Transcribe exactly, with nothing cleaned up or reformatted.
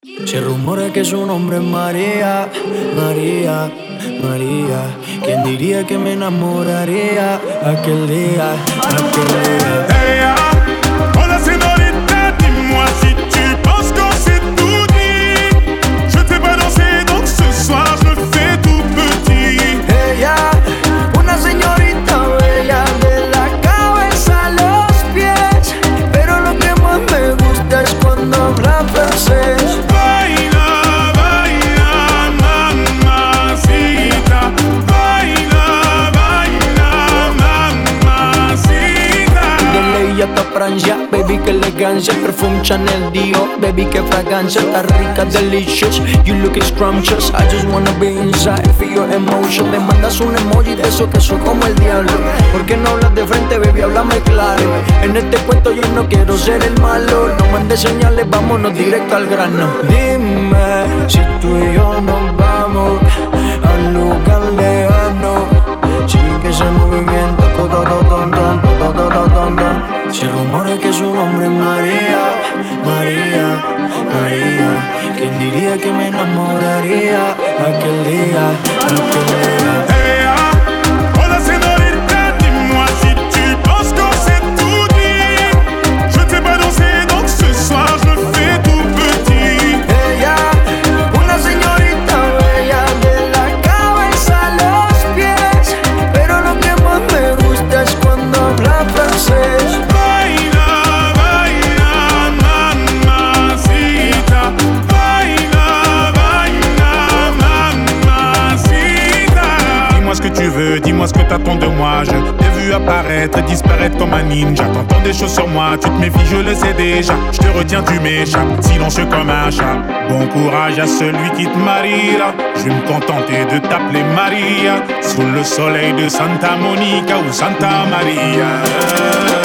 Se rumora que su nombre es María, María, María. ¿Quién diría que me enamoraría aquel día, aquel día? Hey, oh la señorita, dis-moi si tu penses qu'on s'est tout dit. Je t'ai pas dansé, donc ce soir je me fais tout petit. Ella, una señorita bella de la cabeza a los pies, pero lo que más me gusta es cuando habla francés. Hasta Francia, baby, que elegancia. Perfume Chanel, Dior, baby, que fragancia. Está rica, delicious, you looking scrumptious. I just wanna be inside, feel your emotion. Le mandas un emoji de eso que soy como el diablo. ¿Por qué no hablas de frente, baby? Háblame claro. En este cuento yo no quiero ser el malo. No mandes señales, vámonos directo al grano. Dime si tú y yo nos vamos al lugar lejano. Sigue ese movimiento, todo, todo, todo, todo, todo, todo, todo. Se rumora que su nombre es María, María, María. ¿Quién diría que me enamoraría aquel día, aquel día? Hey, oh la señorita, dis-moi si tu penses qu'on s'est tout dit. Je t'ai pas dansé, donc ce soir je me fais tout petit. Ella, una señorita bella de la cabeza a los pies, pero lo que más me gusta es cuando habla francés. Dis-moi ce que tu veux, dis-moi ce que t'attends de moi. Je t'ai vu apparaître et disparaître comme un ninja. T'entends des choses sur moi, tu te méfies, je le sais déjà. Je te retiens, tu m'échappes, silencieux comme un chat. Bon courage à celui qui te mariera. Je vais me contenter de t'appeler Maria, sous le soleil de Santa Monica ou Santa Maria.